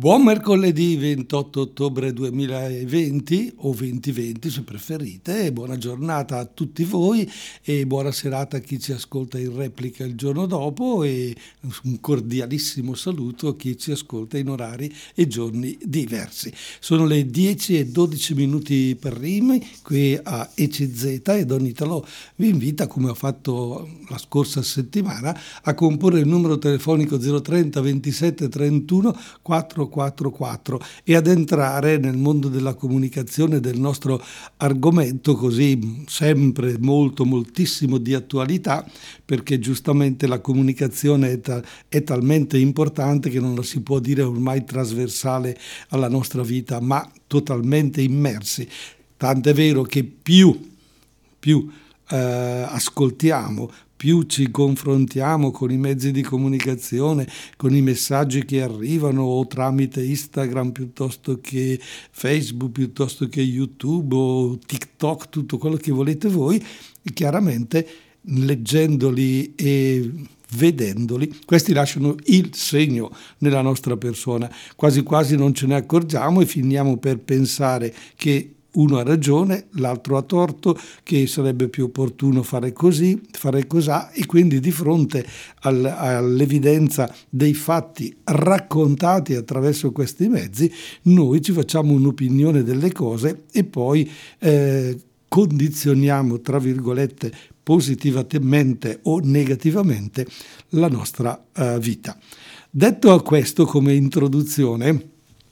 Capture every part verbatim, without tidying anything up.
Buon mercoledì ventotto ottobre duemilaventi o duemilaventi se preferite, e buona giornata a tutti voi e buona serata a chi ci ascolta in replica il giorno dopo, e un cordialissimo saluto a chi ci ascolta in orari e giorni diversi. Sono le dieci e dodici minuti per primi qui a E C Z, e Don Italo vi invita, come ho fatto la scorsa settimana, a comporre il numero telefonico zero trenta ventisette trentuno quattrocentoquarantaquattro e ad entrare nel mondo della comunicazione, del nostro argomento così sempre molto moltissimo di attualità, perché giustamente la comunicazione è, ta- è talmente importante che non la si può dire ormai trasversale alla nostra vita, ma totalmente immersi. Tant'è vero che più, più eh, ascoltiamo, più ci confrontiamo con i mezzi di comunicazione, con i messaggi che arrivano o tramite Instagram piuttosto che Facebook, piuttosto che YouTube o TikTok, tutto quello che volete voi, e chiaramente leggendoli e vedendoli, questi lasciano il segno nella nostra persona. Quasi quasi non ce ne accorgiamo e finiamo per pensare che uno ha ragione, l'altro ha torto, che sarebbe più opportuno fare così, fare cosà, e quindi di fronte al, all'evidenza dei fatti raccontati attraverso questi mezzi, noi ci facciamo un'opinione delle cose e poi eh, condizioniamo, tra virgolette, positivamente o negativamente la nostra uh, vita. Detto a questo come introduzione,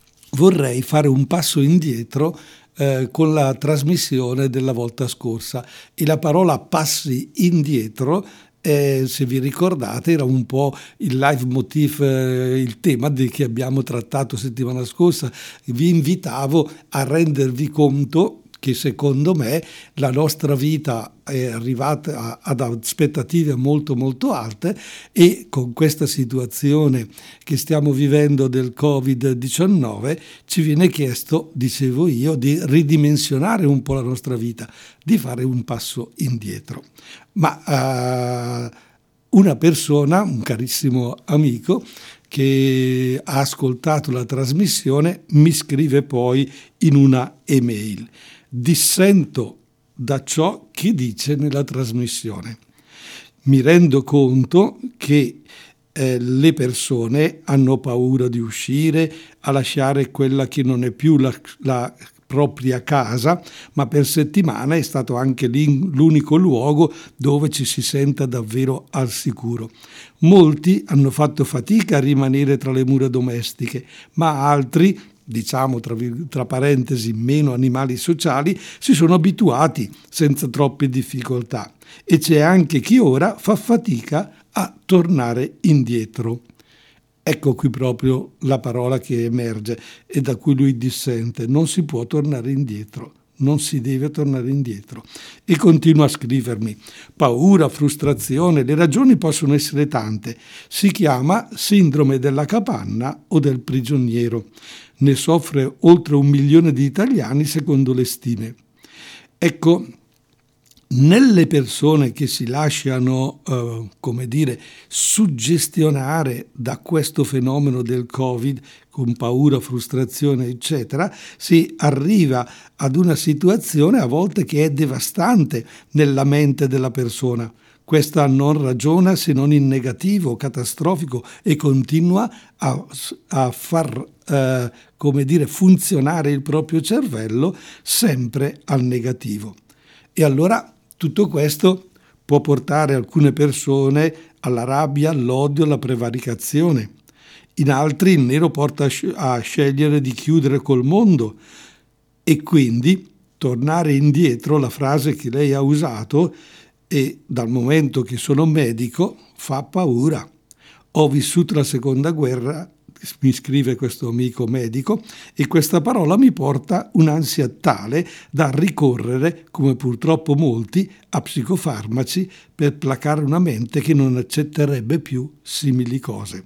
vorrei fare un passo indietro Eh, con la trasmissione della volta scorsa, e la parola passi indietro, eh, se vi ricordate, era un po' il leitmotiv, eh, il tema di che abbiamo trattato settimana scorsa. Vi invitavo a rendervi conto che secondo me la nostra vita è arrivata ad aspettative molto molto alte, e con questa situazione che stiamo vivendo del covid diciannove ci viene chiesto, dicevo io, di ridimensionare un po' la nostra vita, di fare un passo indietro. Ma uh, una persona, un carissimo amico che ha ascoltato la trasmissione, mi scrive poi in una email: dissento da ciò che dice nella trasmissione. Mi rendo conto che eh, le persone hanno paura di uscire, a lasciare quella che non è più la, la propria casa, ma per settimana è stato anche lì l'unico luogo dove ci si senta davvero al sicuro. Molti hanno fatto fatica a rimanere tra le mura domestiche, ma altri, diciamo tra, tra parentesi meno animali sociali, si sono abituati senza troppe difficoltà, e c'è anche chi ora fa fatica a tornare indietro. Ecco qui proprio la parola che emerge e da cui lui dissente: non si può tornare indietro, non si deve tornare indietro. E continua a scrivermi: paura, frustrazione, le ragioni possono essere tante, si chiama sindrome della capanna o del prigioniero. Ne soffre oltre un milione di italiani secondo le stime. Ecco, nelle persone che si lasciano, eh, come dire, suggestionare da questo fenomeno del Covid, con paura, frustrazione, eccetera, si arriva ad una situazione a volte che è devastante nella mente della persona. Questa non ragiona se non in negativo, catastrofico, e continua a, a far, eh, come dire, funzionare il proprio cervello sempre al negativo. E allora tutto questo può portare alcune persone alla rabbia, all'odio, alla prevaricazione. In altri il nero porta a scegliere di chiudere col mondo, e quindi tornare indietro, la frase che lei ha usato, e dal momento che sono medico fa paura. Ho vissuto la seconda guerra, mi scrive questo amico medico, e questa parola mi porta un'ansia tale da ricorrere, come purtroppo molti, a psicofarmaci per placare una mente che non accetterebbe più simili cose.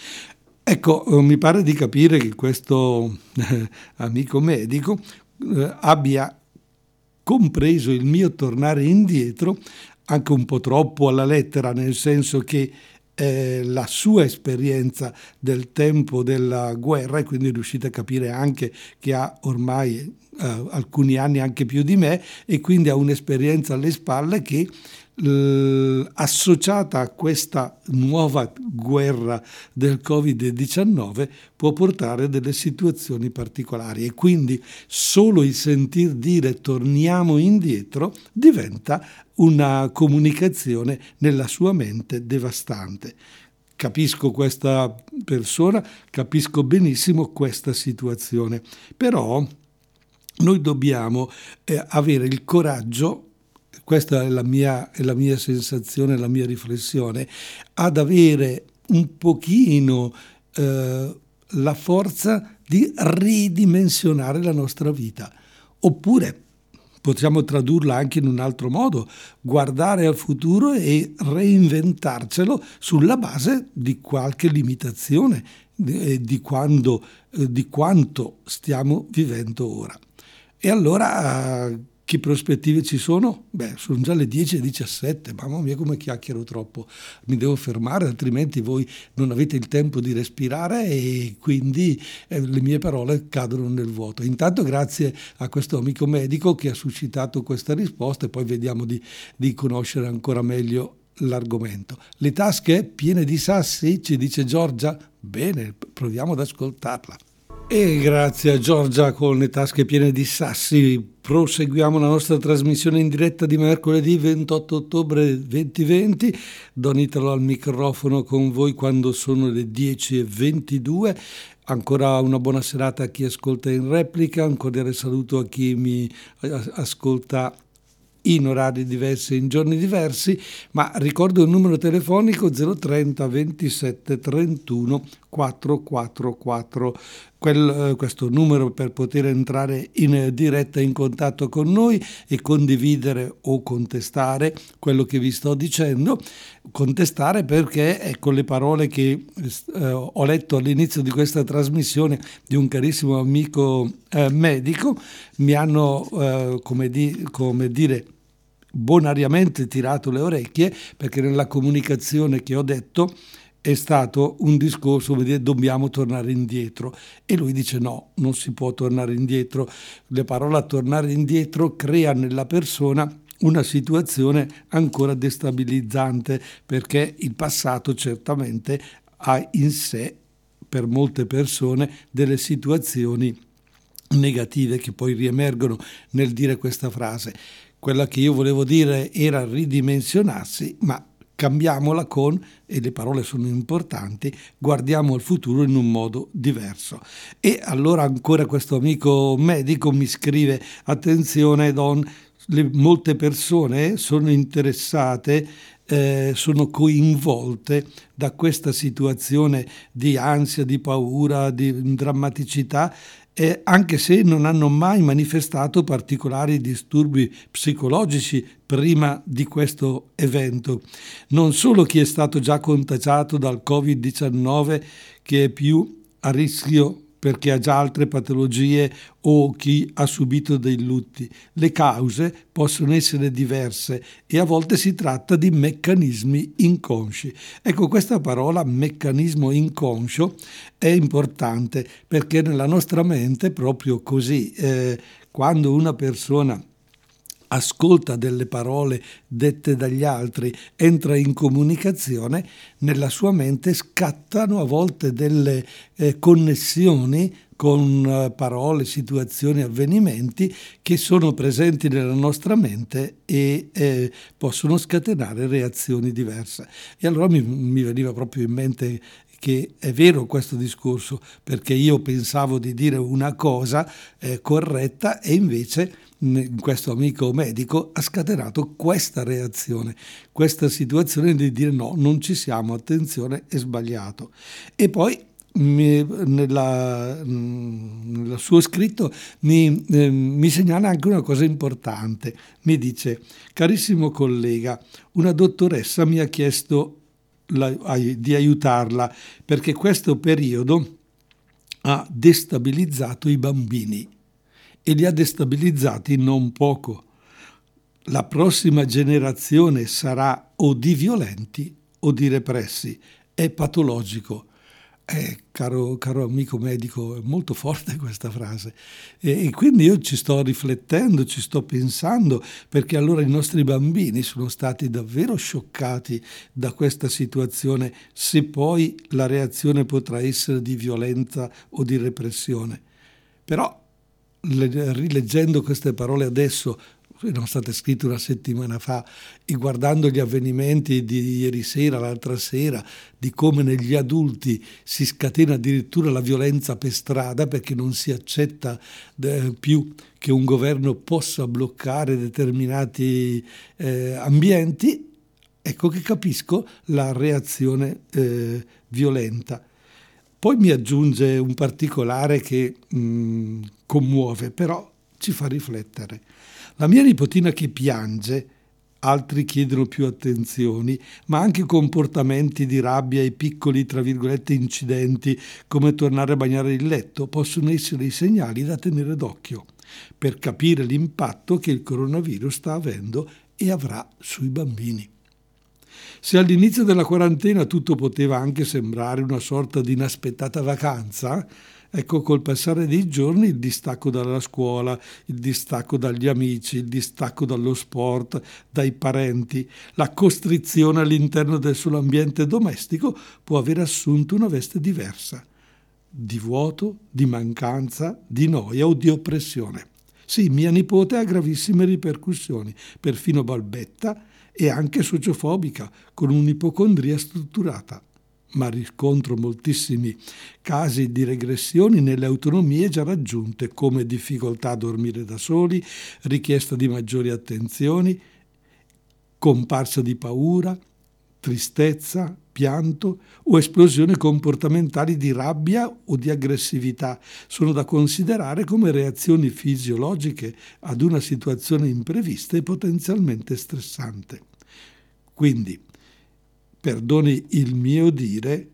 Ecco, mi pare di capire che questo eh, amico medico eh, abbia compreso il mio tornare indietro anche un po' troppo alla lettera, nel senso che eh, la sua esperienza del tempo della guerra, e quindi riuscite a capire anche che ha ormai eh, alcuni anni, anche più di me, e quindi ha un'esperienza alle spalle che eh, associata a questa nuova guerra del covid diciannove può portare a delle situazioni particolari, e quindi solo il sentir dire torniamo indietro diventa una comunicazione nella sua mente devastante. Capisco questa persona, capisco benissimo questa situazione, però noi dobbiamo eh, avere il coraggio, questa è la mia, è la mia sensazione, la mia riflessione, ad avere un pochino eh, la forza di ridimensionare la nostra vita, oppure possiamo tradurla anche in un altro modo, guardare al futuro e reinventarcelo sulla base di qualche limitazione, di, di, quando, di quanto stiamo vivendo ora. E allora che prospettive ci sono? Beh, sono già le dieci e diciassette, mamma mia come chiacchiero troppo, mi devo fermare, altrimenti voi non avete il tempo di respirare e quindi eh, le mie parole cadono nel vuoto. Intanto grazie a questo amico medico che ha suscitato questa risposta, e poi vediamo di, di conoscere ancora meglio l'argomento. Le tasche piene di sassi, ci dice Giorgia? Bene, proviamo ad ascoltarla. E grazie a Giorgia con le tasche piene di sassi proseguiamo la nostra trasmissione in diretta di mercoledì ventotto ottobre duemilaventi. Don Italo al microfono con voi quando sono le dieci e ventidue. Ancora una buona serata a chi ascolta in replica, un cordiale saluto a chi mi ascolta in orari diversi, in giorni diversi, ma ricordo il numero telefonico zero trenta ventisette trentuno quattrocentoquarantaquattro, Quel, questo numero per poter entrare in diretta in contatto con noi e condividere o contestare quello che vi sto dicendo. Contestare perché ecco le parole che eh, ho letto all'inizio di questa trasmissione di un carissimo amico eh, medico mi hanno eh, come, di, come dire bonariamente tirato le orecchie, perché nella comunicazione che ho detto è stato un discorso come dire dobbiamo tornare indietro, e lui dice no, non si può tornare indietro. Le parole tornare indietro crea nella persona una situazione ancora destabilizzante, perché il passato certamente ha in sé per molte persone delle situazioni negative che poi riemergono nel dire questa frase. Quella che io volevo dire era ridimensionarsi, ma cambiamola con, e le parole sono importanti, guardiamo al futuro in un modo diverso. E allora ancora questo amico medico mi scrive: attenzione Don, le, molte persone sono interessate, eh, sono coinvolte da questa situazione di ansia, di paura, di drammaticità, Eh, anche se non hanno mai manifestato particolari disturbi psicologici prima di questo evento. Non solo chi è stato già contagiato dal covid diciannove, che è più a rischio perché ha già altre patologie, o chi ha subito dei lutti. Le cause possono essere diverse e a volte si tratta di meccanismi inconsci. Ecco, questa parola meccanismo inconscio è importante perché nella nostra mente, proprio così, eh, quando una persona ascolta delle parole dette dagli altri, entra in comunicazione, nella sua mente scattano a volte delle eh, connessioni con uh, parole, situazioni, avvenimenti che sono presenti nella nostra mente e eh, possono scatenare reazioni diverse. E allora mi, mi veniva proprio in mente che è vero questo discorso, perché io pensavo di dire una cosa eh, corretta e invece questo amico medico ha scatenato questa reazione, questa situazione di dire no, non ci siamo, attenzione, è sbagliato. E poi mi, nella, nel suo scritto mi, eh, mi segnala anche una cosa importante. Mi dice: carissimo collega, una dottoressa mi ha chiesto la, di aiutarla perché questo periodo ha destabilizzato i bambini e li ha destabilizzati non poco. La prossima generazione sarà o di violenti o di repressi, è patologico. Eh, caro, caro amico medico, è molto forte questa frase e, e quindi io ci sto riflettendo, ci sto pensando, perché allora i nostri bambini sono stati davvero scioccati da questa situazione, se poi la reazione potrà essere di violenza o di repressione. Però le, rileggendo queste parole adesso, erano state scritte una settimana fa, e guardando gli avvenimenti di ieri sera, l'altra sera, di come negli adulti si scatena addirittura la violenza per strada perché non si accetta eh, più che un governo possa bloccare determinati eh, ambienti, ecco che capisco la reazione eh, violenta. Poi mi aggiunge un particolare che mh, commuove, però ci fa riflettere. La mia nipotina che piange, altri chiedono più attenzioni, ma anche comportamenti di rabbia e piccoli, tra virgolette, incidenti, come tornare a bagnare il letto, possono essere i segnali da tenere d'occhio per capire l'impatto che il coronavirus sta avendo e avrà sui bambini. Se all'inizio della quarantena tutto poteva anche sembrare una sorta di inaspettata vacanza, ecco, col passare dei giorni il distacco dalla scuola, il distacco dagli amici, il distacco dallo sport, dai parenti, la costrizione all'interno del suo ambiente domestico può aver assunto una veste diversa, di vuoto, di mancanza, di noia o di oppressione. Sì, mia nipote ha gravissime ripercussioni, perfino balbetta e anche sociofobica, con un'ipocondria strutturata. Ma riscontro moltissimi casi di regressioni nelle autonomie già raggiunte, come difficoltà a dormire da soli, richiesta di maggiori attenzioni, comparsa di paura, tristezza, pianto o esplosioni comportamentali di rabbia o di aggressività. Sono da considerare come reazioni fisiologiche ad una situazione imprevista e potenzialmente stressante. Quindi, perdoni il mio dire,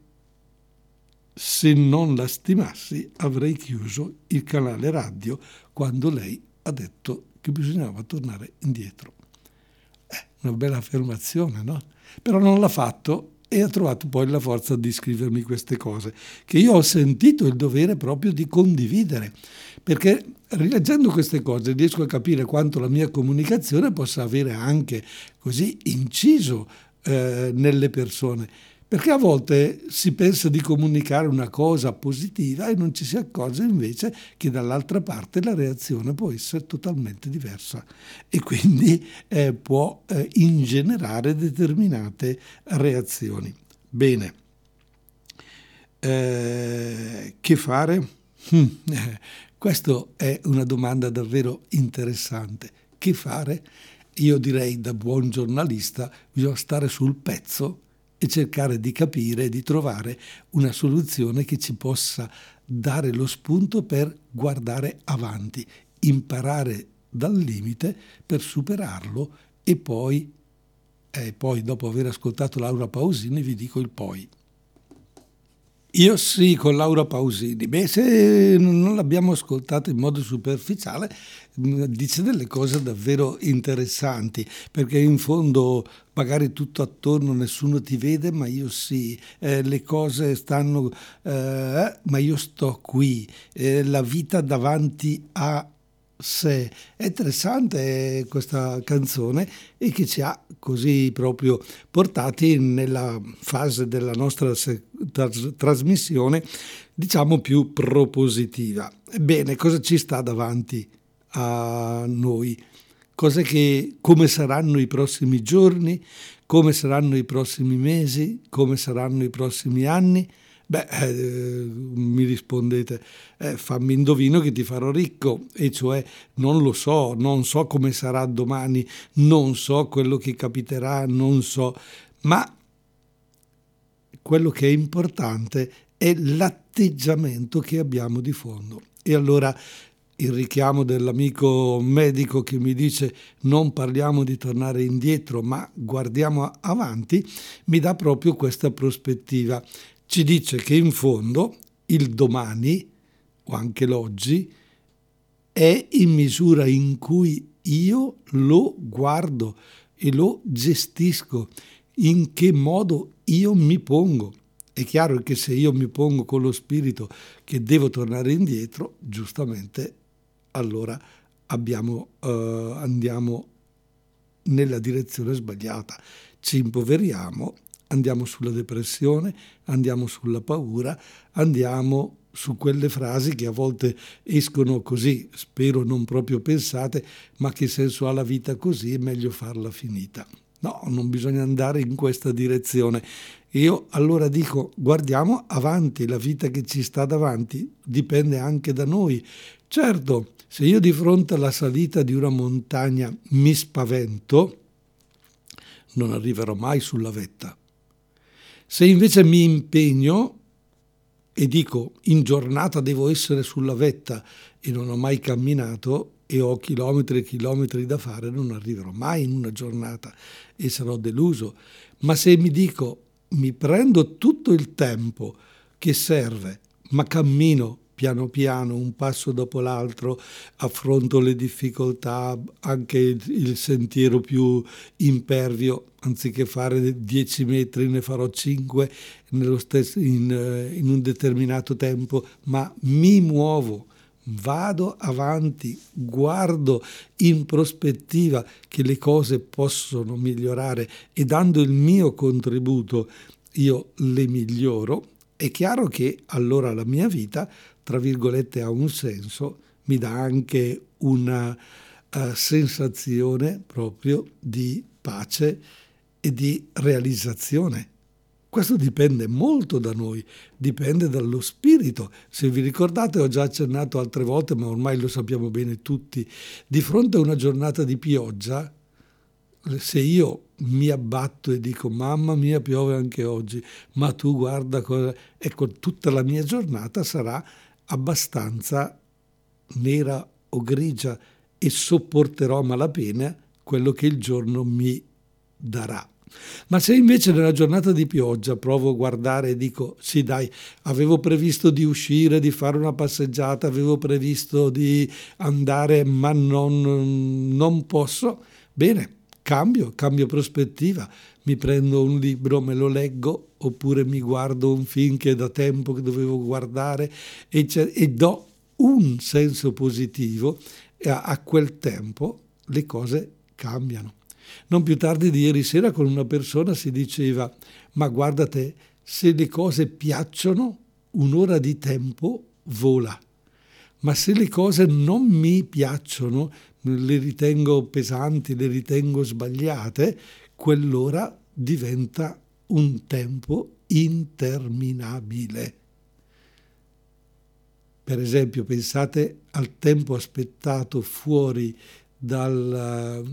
se non la stimassi avrei chiuso il canale radio quando lei ha detto che bisognava tornare indietro. Eh, una bella affermazione, no? Però non l'ha fatto e ha trovato poi la forza di scrivermi queste cose, che io ho sentito il dovere proprio di condividere, perché rileggendo queste cose riesco a capire quanto la mia comunicazione possa avere anche così inciso eh, nelle persone, perché a volte si pensa di comunicare una cosa positiva e non ci si accorge invece che dall'altra parte la reazione può essere totalmente diversa e quindi eh, può eh, ingenerare determinate reazioni. Bene, eh, che fare? Hm, eh, questa è una domanda davvero interessante. Che fare? Io direi, da buon giornalista, bisogna stare sul pezzo e cercare di capire e di trovare una soluzione che ci possa dare lo spunto per guardare avanti, imparare dal limite per superarlo e poi, e poi dopo aver ascoltato Laura Pausini vi dico il poi. Io sì, con Laura Pausini. Beh, se non l'abbiamo ascoltato in modo superficiale, dice delle cose davvero interessanti, perché in fondo magari tutto attorno nessuno ti vede, ma io sì, eh, le cose stanno, eh, ma io sto qui, eh, la vita davanti a sé. È interessante questa canzone e che ci ha così proprio portati nella fase della nostra se- tras- trasmissione, diciamo più propositiva. Ebbene, cosa ci sta davanti a noi? Cose che, come saranno i prossimi giorni, come saranno i prossimi mesi, come saranno i prossimi anni? Beh, eh, mi rispondete, eh, fammi indovino che ti farò ricco, e cioè non lo so, non so come sarà domani, non so quello che capiterà, non so, ma quello che è importante è l'atteggiamento che abbiamo di fondo. E allora il richiamo dell'amico medico che mi dice non parliamo di tornare indietro, ma guardiamo avanti, mi dà proprio questa prospettiva. Ci dice che in fondo il domani, o anche l'oggi, è in misura in cui io lo guardo e lo gestisco, in che modo io mi pongo. È chiaro che se io mi pongo con lo spirito che devo tornare indietro, giustamente allora abbiamo, eh, andiamo nella direzione sbagliata, ci impoveriamo, andiamo sulla depressione, andiamo sulla paura, andiamo su quelle frasi che a volte escono così, spero non proprio pensate, ma che senso ha la vita così, è meglio farla finita. No, non bisogna andare in questa direzione. Io allora dico, guardiamo avanti, la vita che ci sta davanti dipende anche da noi. Certo, se io di fronte alla salita di una montagna mi spavento, non arriverò mai sulla vetta. Se invece mi impegno e dico in giornata devo essere sulla vetta e non ho mai camminato e ho chilometri e chilometri da fare, non arriverò mai in una giornata e sarò deluso. Ma se mi dico mi prendo tutto il tempo che serve, ma cammino piano piano, un passo dopo l'altro, affronto le difficoltà, anche il sentiero più impervio, anziché fare dieci metri ne farò cinque nello stesso, in, in un determinato tempo, ma mi muovo, vado avanti, guardo in prospettiva che le cose possono migliorare e dando il mio contributo io le miglioro. È chiaro che allora la mia vita, tra virgolette, ha un senso, mi dà anche una uh, sensazione proprio di pace e di realizzazione. Questo dipende molto da noi, dipende dallo spirito. Se vi ricordate, ho già accennato altre volte, ma ormai lo sappiamo bene tutti, di fronte a una giornata di pioggia, se io mi abbatto e dico mamma mia piove anche oggi, ma tu guarda cosa, ecco, tutta la mia giornata sarà abbastanza nera o grigia e sopporterò a malapena quello che il giorno mi darà. Ma se invece nella giornata di pioggia provo a guardare e dico sì dai, avevo previsto di uscire, di fare una passeggiata, avevo previsto di andare ma non, non posso, bene, cambio, cambio prospettiva, mi prendo un libro, me lo leggo oppure mi guardo un film che è da tempo che dovevo guardare e, e do un senso positivo e a, a quel tempo le cose cambiano. Non più tardi di ieri sera con una persona si diceva ma guardate, se le cose piacciono un'ora di tempo vola, ma se le cose non mi piacciono, le ritengo pesanti, le ritengo sbagliate, quell'ora diventa un tempo interminabile. Per esempio, pensate al tempo aspettato fuori dal,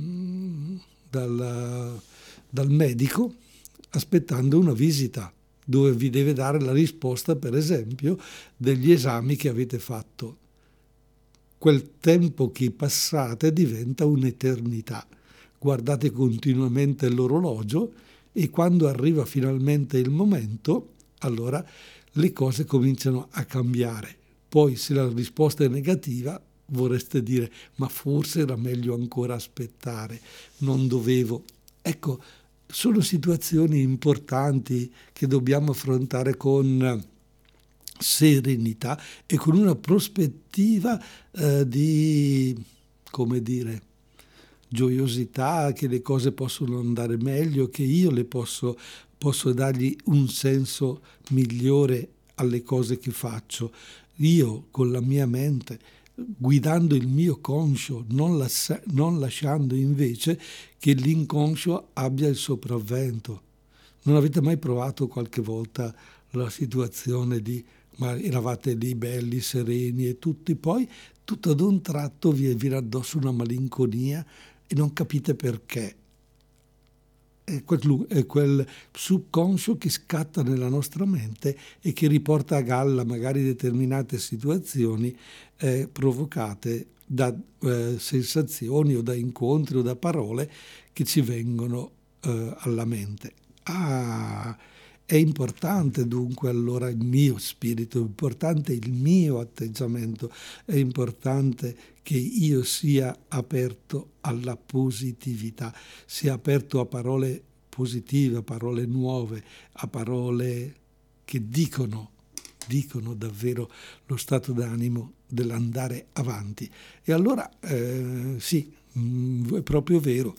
dal, dal medico, aspettando una visita, dove vi deve dare la risposta, per esempio, degli esami che avete fatto. Quel tempo che passate diventa un'eternità. Guardate continuamente l'orologio e quando arriva finalmente il momento, allora le cose cominciano a cambiare. Poi se la risposta è negativa, vorreste dire ma forse era meglio ancora aspettare, non dovevo. Ecco, sono situazioni importanti che dobbiamo affrontare con serenità e con una prospettiva eh, di, come dire, gioiosità, che le cose possono andare meglio, che io le posso, posso dargli un senso migliore alle cose che faccio. Io con la mia mente, guidando il mio conscio, non, las- non lasciando invece che l'inconscio abbia il sopravvento. Non avete mai provato qualche volta la situazione di ma eravate lì belli, sereni e tutti, poi tutto ad un tratto vi viene addosso una malinconia e non capite perché. È quel, è quel subconscio che scatta nella nostra mente e che riporta a galla magari determinate situazioni eh, provocate da eh, sensazioni o da incontri o da parole che ci vengono eh, alla mente. Ah, è importante dunque allora il mio spirito, è importante il mio atteggiamento, è importante che io sia aperto alla positività, sia aperto a parole positive, a parole nuove, a parole che dicono, dicono davvero lo stato d'animo dell'andare avanti. E allora eh, sì, mh, è proprio vero,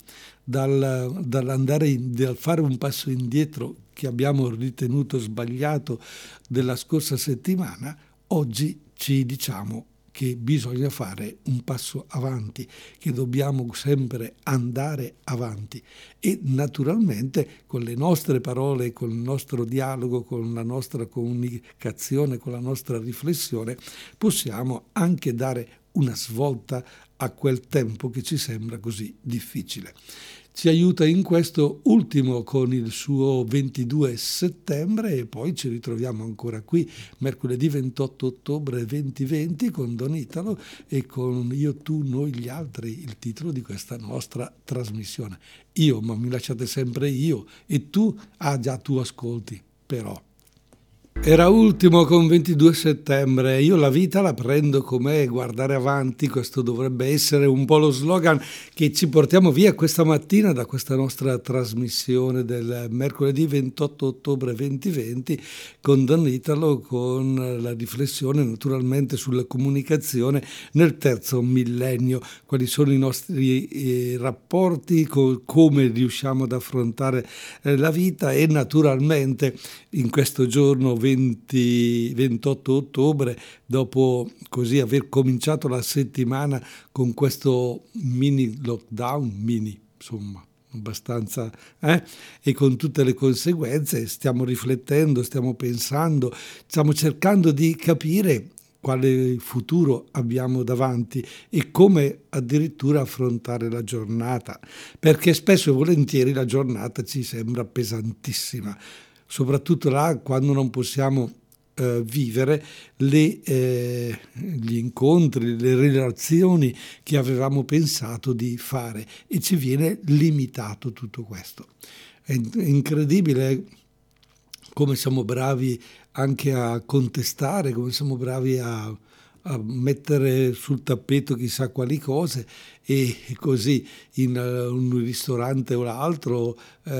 dal, dall'andare in, dal fare un passo indietro che abbiamo ritenuto sbagliato della scorsa settimana, oggi ci diciamo che bisogna fare un passo avanti, che dobbiamo sempre andare avanti e naturalmente con le nostre parole, con il nostro dialogo, con la nostra comunicazione, con la nostra riflessione, possiamo anche dare una svolta a quel tempo che ci sembra così difficile. Ci aiuta in questo ultimo con il suo ventidue settembre e poi ci ritroviamo ancora qui mercoledì ventotto ottobre duemilaventi con Don Italo e con Io, tu, noi, gli altri, il titolo di questa nostra trasmissione. Io, ma mi lasciate sempre io e tu, ah già tu ascolti, però. Era ultimo con ventidue settembre, io la vita la prendo come guardare avanti, questo dovrebbe essere un po' lo slogan che ci portiamo via questa mattina da questa nostra trasmissione del mercoledì ventotto ottobre duemilaventi con Don Italo, con la riflessione naturalmente sulla comunicazione nel terzo millennio, quali sono i nostri eh, rapporti, co- come riusciamo ad affrontare eh, la vita e naturalmente in questo giorno venti, ventotto ottobre, dopo così aver cominciato la settimana con questo mini lockdown, mini insomma, abbastanza, eh? E con tutte le conseguenze, stiamo riflettendo, stiamo pensando, stiamo cercando di capire quale futuro abbiamo davanti e come addirittura affrontare la giornata, perché spesso e volentieri la giornata ci sembra pesantissima, soprattutto là quando non possiamo eh, vivere le, eh, gli incontri, le relazioni che avevamo pensato di fare e ci viene limitato tutto questo. È incredibile come siamo bravi anche a contestare, come siamo bravi a, a mettere sul tappeto chissà quali cose e così in uh, un ristorante o l'altro,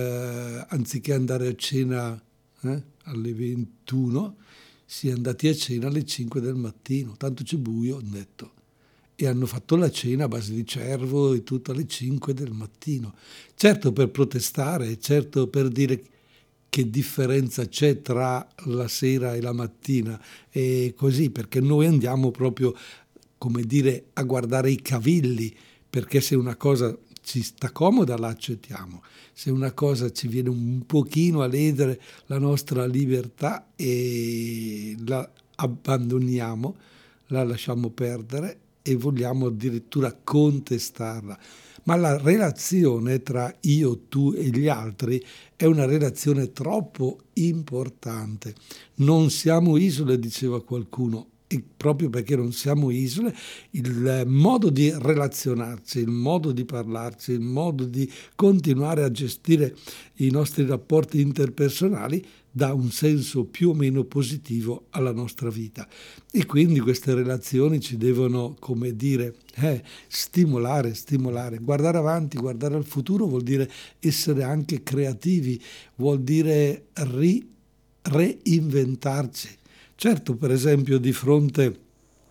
eh, anziché andare a cena eh, alle ventuno, si è andati a cena alle cinque del mattino, tanto c'è buio, hanno detto. E hanno fatto la cena a base di cervo e tutto alle cinque del mattino. Certo per protestare, certo per dire che differenza c'è tra la sera e la mattina e così, perché noi andiamo proprio, come dire, a guardare i cavilli, perché se una cosa ci sta comoda la accettiamo, se una cosa ci viene un pochino a ledere la nostra libertà e la abbandoniamo, la lasciamo perdere e vogliamo addirittura contestarla. Ma la relazione tra io, tu e gli altri è una relazione troppo importante. Non siamo isole, diceva qualcuno, e proprio perché non siamo isole, il modo di relazionarci, il modo di parlarci, il modo di continuare a gestire i nostri rapporti interpersonali dà un senso più o meno positivo alla nostra vita. E quindi queste relazioni ci devono, come dire, eh, stimolare, stimolare. Guardare avanti, guardare al futuro vuol dire essere anche creativi, vuol dire ri, reinventarci. Certo, per esempio, di fronte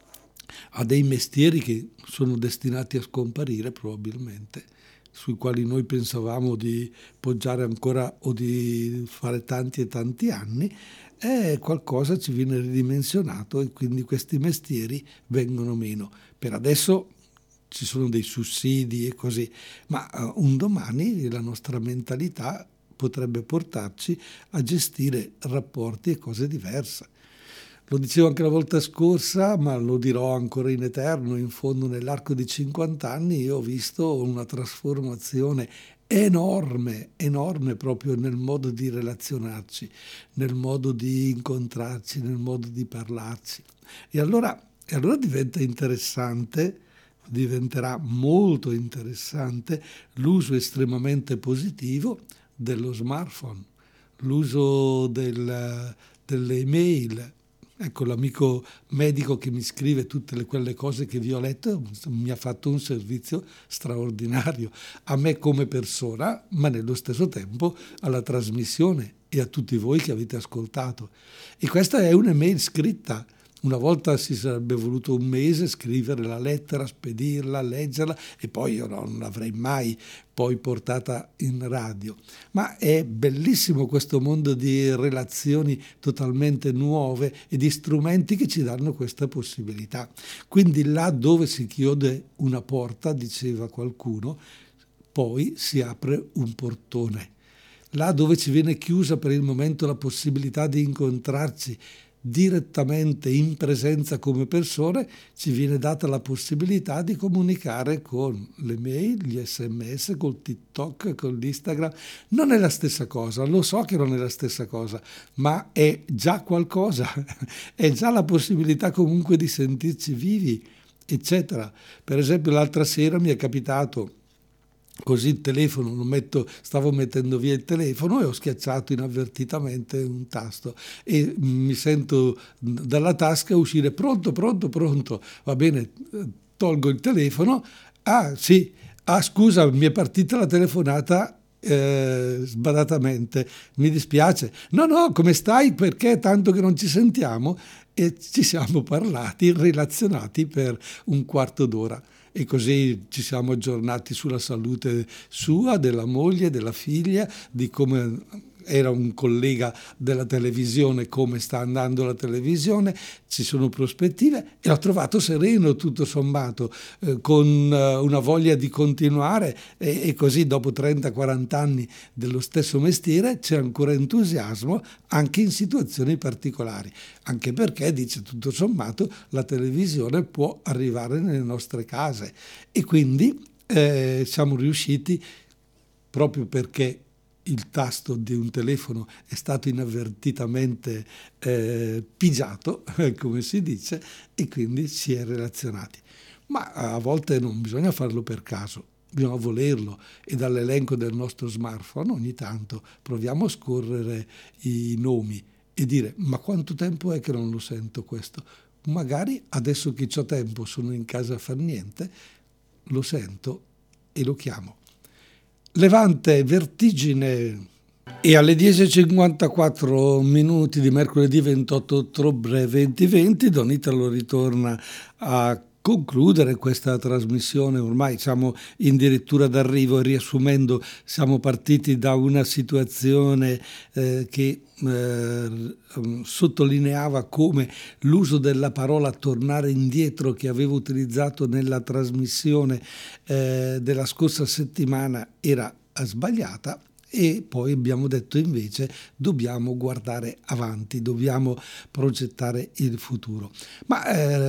a dei mestieri che sono destinati a scomparire probabilmente, sui quali noi pensavamo di poggiare ancora o di fare tanti e tanti anni, e qualcosa ci viene ridimensionato e quindi questi mestieri vengono meno. Per adesso ci sono dei sussidi e così, ma uh, un domani la nostra mentalità potrebbe portarci a gestire rapporti e cose diverse. Lo dicevo anche la volta scorsa, ma lo dirò ancora in eterno, in fondo nell'arco di cinquanta anni io ho visto una trasformazione enorme, enorme proprio nel modo di relazionarci, nel modo di incontrarci, nel modo di parlarci. E allora, e allora diventa interessante, diventerà molto interessante l'uso estremamente positivo dello smartphone, l'uso del, delle email, Ecco, l'amico medico che mi scrive tutte le, quelle cose che vi ho letto mi ha fatto un servizio straordinario a me come persona, ma nello stesso tempo alla trasmissione e a tutti voi che avete ascoltato. E questa è un'email scritta. Una volta si sarebbe voluto un mese scrivere la lettera, spedirla, leggerla e poi io non l'avrei mai poi portata in radio. Ma è bellissimo questo mondo di relazioni totalmente nuove e di strumenti che ci danno questa possibilità. Quindi là dove si chiude una porta, diceva qualcuno, poi si apre un portone. Là dove ci viene chiusa per il momento la possibilità di incontrarci direttamente in presenza come persone, ci viene data la possibilità di comunicare con le mail, gli sms, col TikTok, con l'Instagram. Non è la stessa cosa, lo so che non è la stessa cosa, ma è già qualcosa, è già la possibilità comunque di sentirci vivi, eccetera. Per esempio l'altra sera mi è capitato così il telefono, lo metto, stavo mettendo via il telefono e ho schiacciato inavvertitamente un tasto e mi sento dalla tasca uscire pronto, pronto, pronto, va bene, tolgo il telefono, ah sì, ah scusa, mi è partita la telefonata eh, sbadatamente, mi dispiace, no no, come stai, perché tanto che non ci sentiamo, e ci siamo parlati, relazionati per un quarto d'ora. E così ci siamo aggiornati sulla salute sua, della moglie, della figlia, di come era un collega della televisione, come sta andando la televisione, ci sono prospettive e l'ho trovato sereno tutto sommato, eh, con eh, una voglia di continuare e, e così dopo trenta quaranta anni dello stesso mestiere c'è ancora entusiasmo anche in situazioni particolari, anche perché, dice tutto sommato, la televisione può arrivare nelle nostre case e quindi eh, siamo riusciti, proprio perché il tasto di un telefono è stato inavvertitamente eh, pigiato, come si dice, e quindi si è relazionati. Ma a volte non bisogna farlo per caso, bisogna volerlo e dall'elenco del nostro smartphone ogni tanto proviamo a scorrere i nomi e dire: ma quanto tempo è che non lo sento questo? Magari adesso che ho tempo, sono in casa a far niente, lo sento e lo chiamo. Levante, Vertigine. E alle dieci e cinquantaquattro minuti di mercoledì ventotto ottobre duemilaventi Don Italo ritorna a concludere questa trasmissione. Ormai siamo addirittura d'arrivo e, riassumendo, siamo partiti da una situazione eh, che eh, sottolineava come l'uso della parola tornare indietro, che avevo utilizzato nella trasmissione eh, della scorsa settimana, era sbagliata. E poi abbiamo detto invece dobbiamo guardare avanti, dobbiamo progettare il futuro. Ma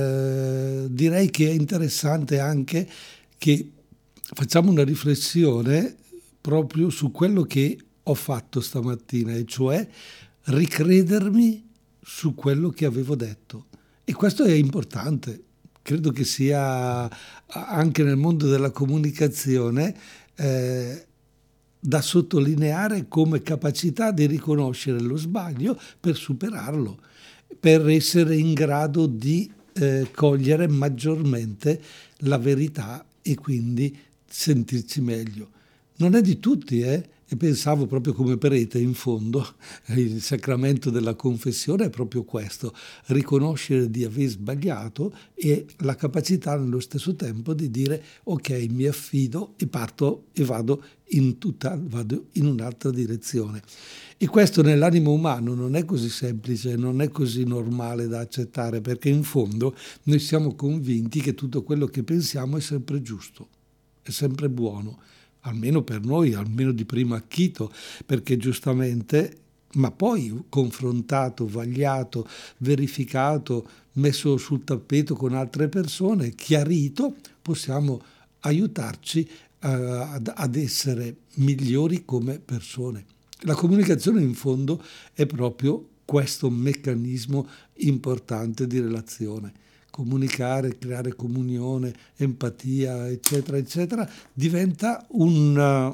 eh, direi che è interessante anche che facciamo una riflessione proprio su quello che ho fatto stamattina, e cioè ricredermi su quello che avevo detto. E questo è importante, credo che sia anche nel mondo della comunicazione eh, da sottolineare come capacità di riconoscere lo sbaglio per superarlo, per essere in grado di eh, cogliere maggiormente la verità e quindi sentirci meglio. Non è di tutti, eh? E pensavo proprio come prete, in fondo, il sacramento della confessione è proprio questo: riconoscere di aver sbagliato e la capacità nello stesso tempo di dire ok, mi affido e parto e vado in tutta, vado in un'altra direzione. E questo nell'animo umano non è così semplice, non è così normale da accettare, perché in fondo noi siamo convinti che tutto quello che pensiamo è sempre giusto, è sempre buono. Almeno per noi, almeno di primo acchito, perché giustamente, ma poi confrontato, vagliato, verificato, messo sul tappeto con altre persone, chiarito, possiamo aiutarci uh, ad, ad essere migliori come persone. La comunicazione in fondo è proprio questo meccanismo importante di relazione. Comunicare, creare comunione, empatia, eccetera, eccetera, diventa un,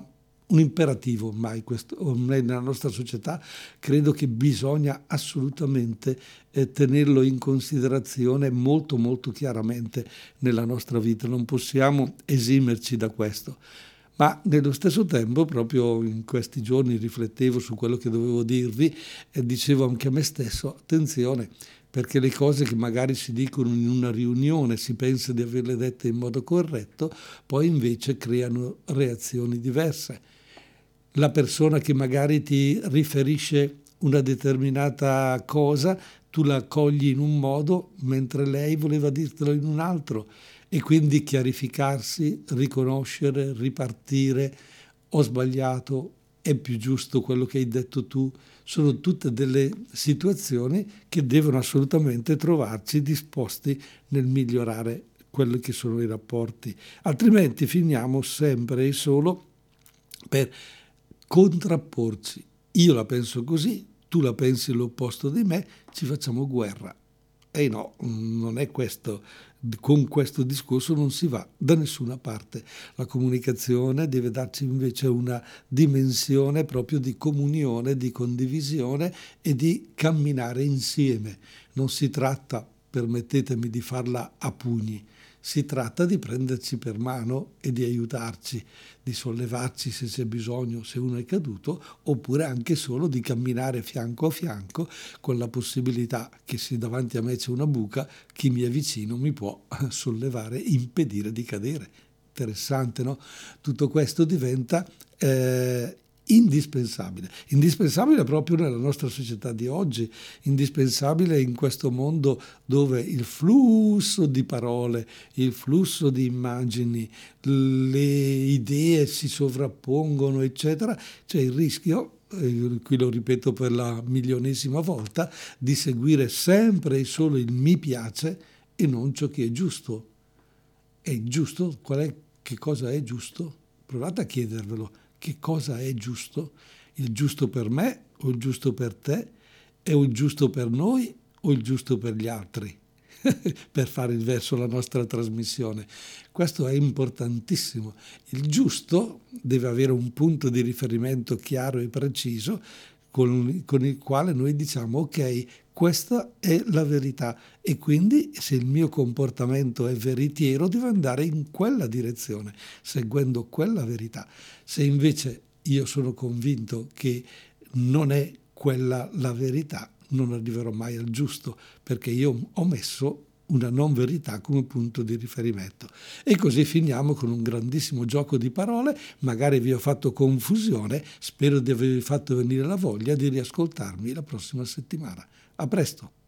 un imperativo ormai, questo, ormai nella nostra società credo che bisogna assolutamente eh, tenerlo in considerazione molto molto chiaramente nella nostra vita, non possiamo esimerci da questo. Ma nello stesso tempo, proprio in questi giorni riflettevo su quello che dovevo dirvi e dicevo anche a me stesso, attenzione, perché le cose che magari si dicono in una riunione, si pensa di averle dette in modo corretto, poi invece creano reazioni diverse. La persona che magari ti riferisce una determinata cosa, tu la cogli in un modo, mentre lei voleva dirtelo in un altro. E quindi chiarificarsi, riconoscere, ripartire, ho sbagliato, è più giusto quello che hai detto tu, sono tutte delle situazioni che devono assolutamente trovarci disposti nel migliorare quelli che sono i rapporti, altrimenti finiamo sempre e solo per contrapporci. Io la penso così, tu la pensi l'opposto di me, ci facciamo guerra. E no, non è questo, con questo discorso non si va da nessuna parte. La comunicazione deve darci invece una dimensione proprio di comunione, di condivisione e di camminare insieme. Non si tratta, permettetemi, di farla a pugni. Si tratta di prenderci per mano e di aiutarci, di sollevarci se c'è bisogno, se uno è caduto, oppure anche solo di camminare fianco a fianco con la possibilità che se davanti a me c'è una buca, chi mi è vicino mi può sollevare, impedire di cadere. Interessante, no? Tutto questo diventa eh, indispensabile, indispensabile proprio nella nostra società di oggi, indispensabile in questo mondo dove il flusso di parole, il flusso di immagini, le idee si sovrappongono, eccetera, c'è il rischio, eh, qui lo ripeto per la milionesima volta, di seguire sempre e solo il mi piace e non ciò che è giusto. È giusto? Qual è, che cosa è giusto? Provate a chiedervelo. Che cosa è giusto? Il giusto per me o il giusto per te? È il giusto per noi o il giusto per gli altri? Per fare il verso la nostra trasmissione. Questo è importantissimo. Il giusto deve avere un punto di riferimento chiaro e preciso con, con il quale noi diciamo ok, questa è la verità e quindi se il mio comportamento è veritiero devo andare in quella direzione, seguendo quella verità. Se invece io sono convinto che non è quella la verità, non arriverò mai al giusto, perché io ho messo una non verità come punto di riferimento. E così finiamo con un grandissimo gioco di parole, magari vi ho fatto confusione, spero di avervi fatto venire la voglia di riascoltarmi la prossima settimana. A presto!